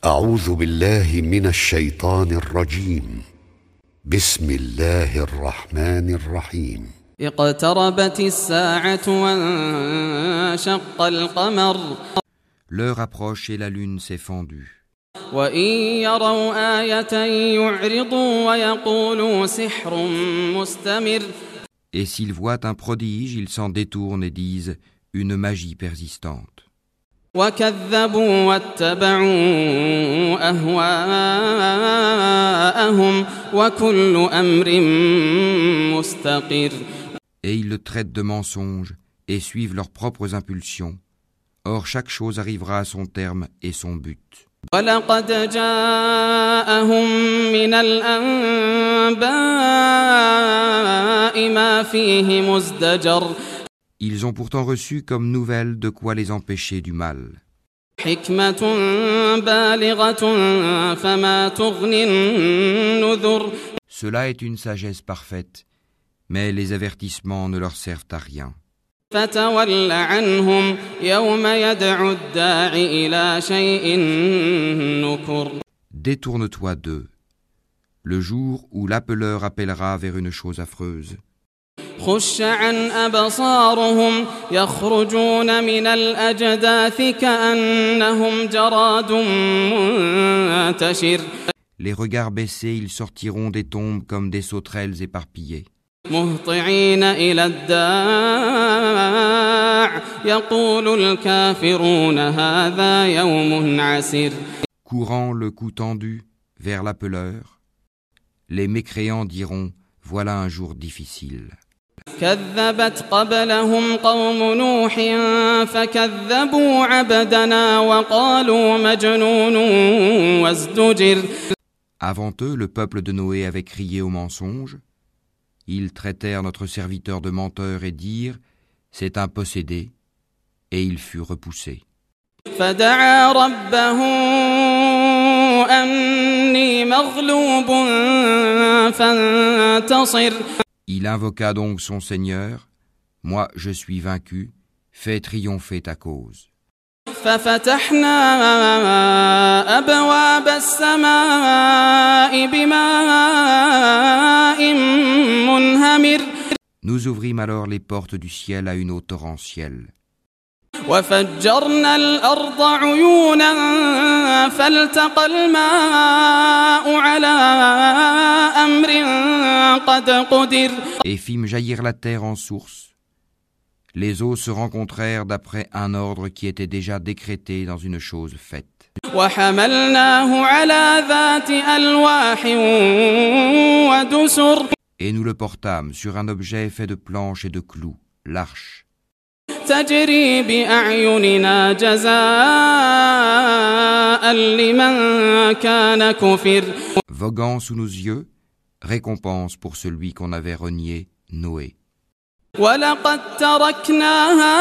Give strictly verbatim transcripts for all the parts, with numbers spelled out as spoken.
أعوذ بالله من الشيطان الرجيم بسم الله الرحمن الرحيم اقتربت الساعة وانشق القمر L'heure approche et la lune s'est fendue. وإن يروا آية يعرضوا ويقولوا سحر مستمر Et s'ils voient un prodige, ils s'en détournent et disent une magie persistante. وكذبوا واتبعوا أهواءهم وكل أمر مستقر. Et ils le traitent de mensonge et suivent leurs propres impulsions. Or chaque chose arrivera à son terme et son but. وَلَقَدْ جَاءَهُم مِّنَ الْأَنبَاءِ مَا فِيهِ مُزْدَجَرٌ. Ils ont pourtant reçu comme nouvelle de quoi les empêcher du mal. حِكْمَةٌ بَالِغَةٌ فَمَا تُغْنِ النُّذُرُ. Cela est une sagesse parfaite, mais les avertissements ne leur servent à rien. فَتَوَلَّ عَنْهُمْ يَوْمَ يَدْعُ الدَّاعِ إِلَى شَيْءٍ نُكُرٍ. Détourne-toi d'eux, le jour où l'appeleur appellera vers une chose affreuse. خُشَّ عَنْ أَبْصَارُهُمْ يَخْرُجُونَ مِنَ الْأَجْدَاثِ كَأَنَّهُمْ جَرَادٌ مُنْتَشِرٌ. Les regards baissés, ils sortiront des tombes comme des sauterelles éparpillées. مهطعين إلى الداع يقول الكافرون هذا يوم عسير. Courant le cou tendu vers l'appeleur, les mécréants diront voilà un jour difficile. كذبت قبلهم قوم نوح فكذبوا عبدنا وقالوا مجنون وازدجر. Avant eux, le peuple de Noé avait crié au mensonge. Ils traitèrent notre serviteur de menteur et dirent « C'est un possédé » et il fut repoussé. فدعا ربه أني مغلوب فانتصر. Il invoqua donc son Seigneur « Moi, je suis vaincu, fais triompher ta cause. » ففتحنا أبواب السماء بماء منهمر. Nous ouvrîmes alors les portes du ciel à une eau torrentielle. وفجرنا الأرض عيونا فالتقى الماء على أمر قد قدر. Et fîmes jaillir la terre en source. Les eaux se rencontrèrent d'après un ordre qui était déjà décrété dans une chose faite. وحملناه على ذات ألواح ودسر. Et nous le portâmes sur un objet fait de planches et de clous, l'arche. تجري بأعيننا جزاء لمن كان كفر. Voguant sous nos yeux, récompense pour celui qu'on avait renié, Noé. وَلَقَدْ تَرَكْنَاهَا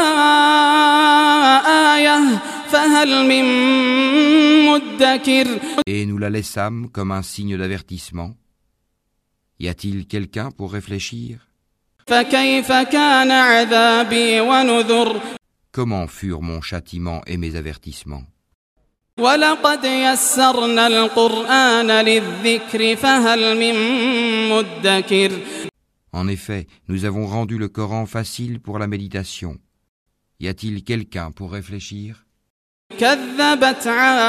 آيَةً فَهَلْ مِن مُدَّكِرٍ. Et nous la laissâmes comme un signe d'avertissement. Y a-t-il quelqu'un pour réfléchir? فَكَيْفَ كَانَ عَذَابِي وَنُذُرِ. Comment furent mon châtiment et mes avertissements? وَلَقَدْ يَسَّرْنَا الْقُرْآنَ لِلذِّكْرِ فَهَلْ مِن مُدَّكِرٍ. En effet, nous avons rendu le Coran facile pour la méditation. Y a-t-il quelqu'un pour réfléchir? كذبت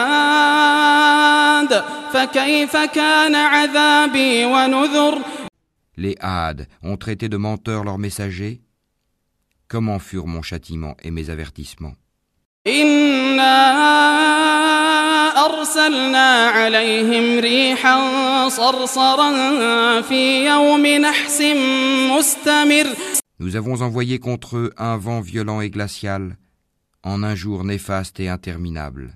عاد فكيف كان عذابي ونذر. Les Hades ont traité de menteurs leurs messagers. Comment furent mon châtiment et mes avertissements? إنا أرسلنا عليهم ريحا صرصرا في يوم نحس مستمر. Nous avons envoyé contre eux un vent violent et glacial en un jour néfaste et interminable.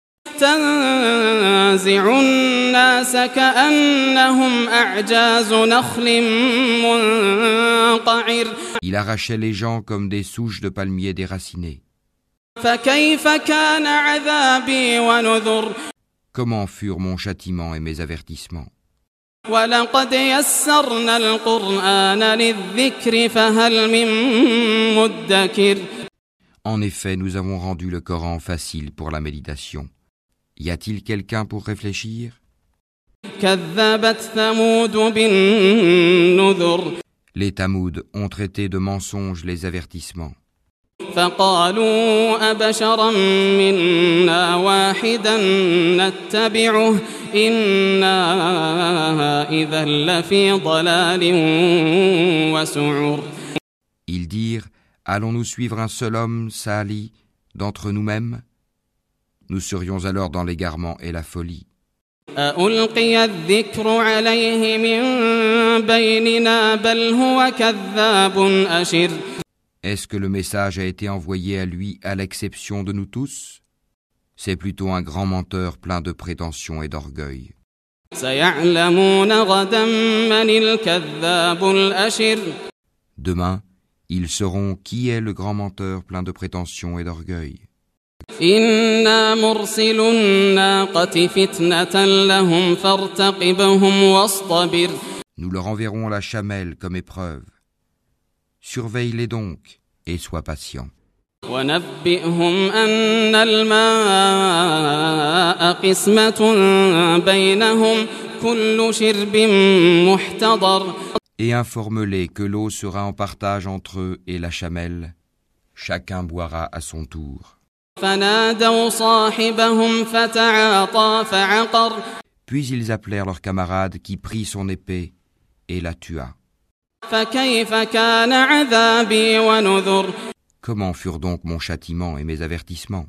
تنزع الناس كأنهم أعجاز نخل منقعر. Il arrachait les gens comme des souches de palmiers déracinées. فكيف كان عذابي ونذر. Comment furent mon châtiment et mes avertissements? وَلَقَدْ يَسَّرْنَا الْقُرْآنَ لِلذِّكْرِ فَهَلْ مِن مُدَّكِرٍ. En effet, nous avons rendu le Coran facile pour la méditation. Y a-t-il quelqu'un pour réfléchir? كذبت ثمود بالنذر Les Tamouds ont traité de mensonges les avertissements. فقالوا أبشرا منا واحدا نتبعه إنا إذا لفي ضلال وسعر. Ils dirent, allons-nous suivre un seul homme, Salih, d'entre nous-mêmes? Nous serions alors dans l'égarement et la folie. أألقي الذكر عليه من بيننا بل هو كذاب أشر. Est-ce que le message a été envoyé à lui à l'exception de nous tous? C'est plutôt un grand menteur plein de prétentions et d'orgueil. سيعلمون غدا من الكذاب الأشر. Demain, ils sauront qui est le grand menteur plein de prétentions et d'orgueil. إنا مرسل الناقة فتنة لهم فارتقبهم واصطبر. Nous leur enverrons la chamelle comme épreuve. Surveille-les donc et sois patient. ونبئهم أن الماء قسمة بينهم كل شرب محتضر. Et informe-les que l'eau sera en partage entre eux et la chamelle. Chacun boira à son tour. فنادوا صاحبهم فتعاطى فعقر. Puis ils appelèrent leur camarade qui prit son épée et la tua. فكيف كان عذابي ونذر. Comment furent donc mon châtiment et mes avertissements?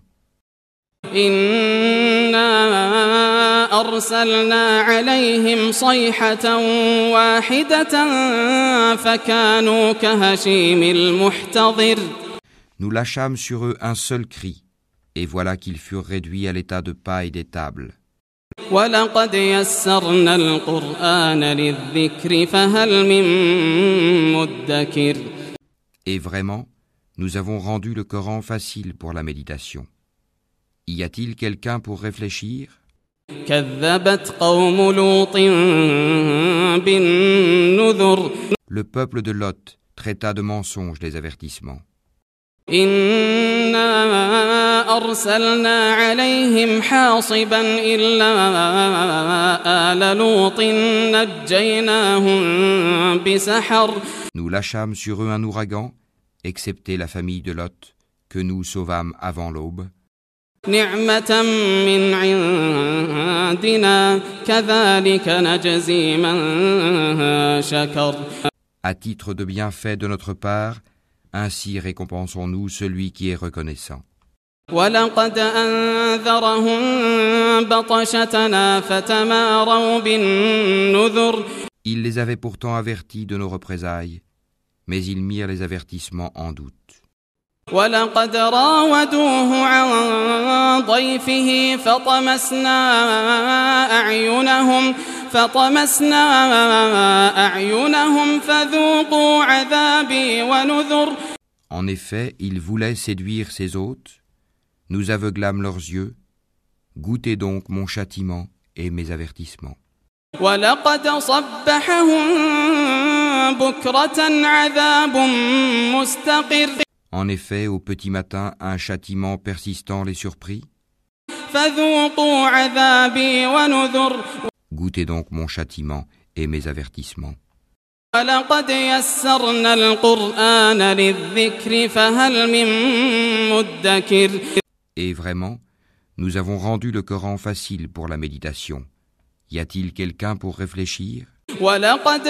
إنا أرسلنا عليهم صيحة واحدة فكانوا كهشيم المحتضر. Nous lâchâmes sur eux un seul cri, et voilà qu'ils furent réduits à l'état de paille des tables. وَلَقَدْ يَسَّرْنَا الْقُرْآنَ لِلذِّكْرِ فَهَلْ مِن مُّدَّكِرٍ. Et vraiment, nous avons rendu le Coran facile pour la méditation. Y a-t-il quelqu'un pour réfléchir? كَذَّبَتْ قَوْمُ لُوطٍ بِالنُّذُرِ. Le peuple de Lot traita de mensonges les avertissements. إِنَّا أَرْسَلْنَا عَلَيْهِمْ حَاصِبًا إِلَّا آلَ لُوطٍ نَجَّيْنَاهُمْ بِسَحَرٍ. Nous lâchâmes sur eux un ouragan, excepté la famille de Lot, que nous sauvâmes avant l'aube. نِعْمَةً مِّنْ عِندِنَا كَذَلِكَ نَجْزِي مَن شَكَرَ. À titre de bienfait de notre part, ainsi récompensons-nous celui qui est reconnaissant. وَلَقَدْ أَنذَرَهُم بَطْشَتَنَا فَتَمَارَوْا بِالنُّذُرِ. Il les avait pourtant avertis de nos représailles, mais ils mirent les avertissements en doute. وَلَقَدْ رَاوَدُوهُ عَن ضَيْفِهِ فَطَمَسْنَا أَعْيُنَهُمْ فَطَمَسْنَا أَعْيُنَهُمْ فَذُوقُوا عَذَابِي وَنُذُرِ. En effet, ils voulaient séduire ses hôtes. Nous aveuglâmes leurs yeux. Goûtez donc mon châtiment et mes avertissements. وَلَقَدْ صَبَّحَهُم بُكْرَةً عَذَابٌ مُّسْتَقِرٌّ. En effet, au petit matin, un châtiment persistant les surprit. فَذُوقُوا عَذَابِي وَنُذُرِ. Goûtez donc mon châtiment et mes avertissements. وَلَقَدْ يَسَّرْنَا الْقُرْآنَ لِلذِّكْرِ فَهَلْ مِن مُّدَّكِرٍ. Et vraiment, nous avons rendu le Coran facile pour la méditation. Y a-t-il quelqu'un pour réfléchir? وَلَقَدْ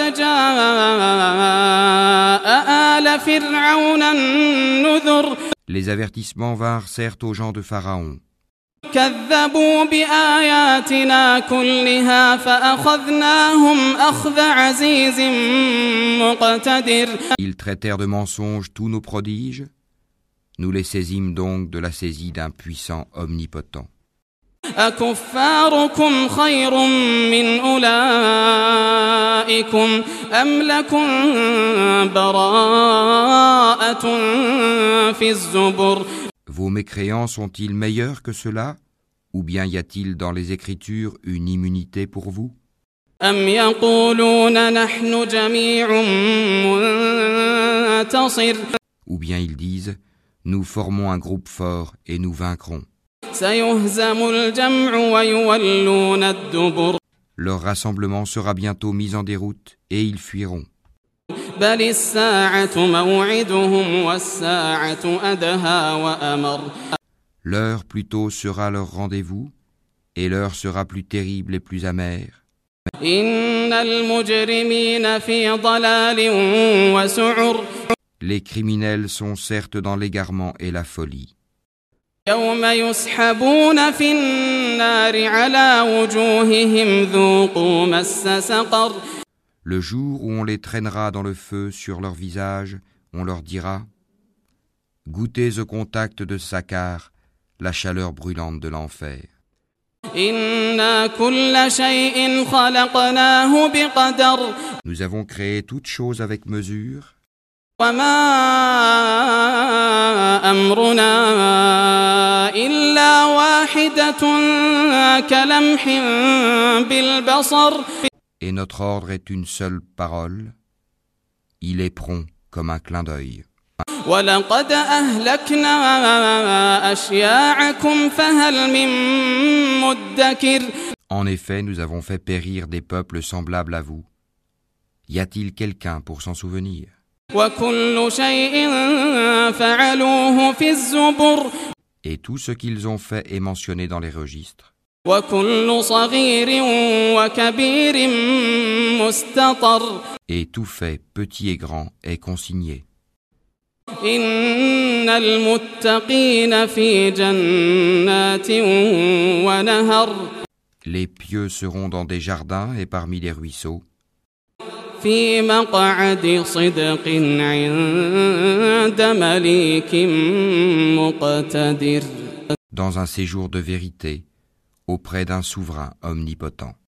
جَاءَ آلَ فِرْعَوْنَ النُّذُرُ. Les avertissements vinrent certes aux gens de Pharaon. كَذَّبُوا بِآيَاتِنَا كُلِّهَا فَأَخَذْنَاهُمْ أَخْذَ عَزِيزٍ مُّقْتَدِرٍ. Ils traitèrent de mensonges tous nos prodiges. Nous les saisîmes donc de la saisie d'un puissant omnipotent. أَكُفَّارُكُمْ خَيْرٌ مِّنْ أُولَٰئِكُمْ أَمْ لَكُمْ بَرَاءَةٌ فِي الزُّبُرِ. Vos mécréants sont-ils meilleurs que ceux-là? Ou bien y a-t-il dans les Écritures une immunité pour vous? أَمْ يَقُولُونَ نَحْنُ جَمِيعٌ مُّنتَصِرٌ. Ou bien ils disent, nous formons un groupe fort et nous vaincrons. سيهزم الجمع ويولون الدبر Leur rassemblement sera bientôt mis en déroute et ils fuiront. بل الساعة موعدهم والساعة أدهى وأمر L'heure plutôt sera leur rendez-vous, et l'heure sera plus terrible et plus amère. إن المجرمين في ضلال وسعر Les criminels sont certes dans l'égarement et la folie. يوم يسحبون في النار على وجوههم ذوقوا مس سقر Le jour où on les traînera dans le feu sur leur visage, on leur dira « Goûtez au contact de Sakar, la chaleur brûlante de l'enfer. » إنا كل شيء خلقناه بقدر Nous avons créé toutes choses avec mesure, وما أمرنا إلا واحدة كلمح بالبصر et notre ordre est une seule parole. Il est prompt comme un clin d'œil. ولقد أهلكنا أشياعكم فهل من مدكر En effet, nous avons fait périr des peuples semblables à vous. Y a-t-il quelqu'un pour s'en souvenir? وكل شيء فعلوه في الزبر Et tout ce qu'ils ont fait est mentionné dans les registres. وكل صغير وكبير مستطر Et tout fait, petit et grand, est consigné. إن المتقين في جنات ونهر Les pieux seront dans des jardins et parmi les ruisseaux, في مقعد صدق عند مليك مقتدر dans un séjour de vérité, auprès d'un souverain omnipotent.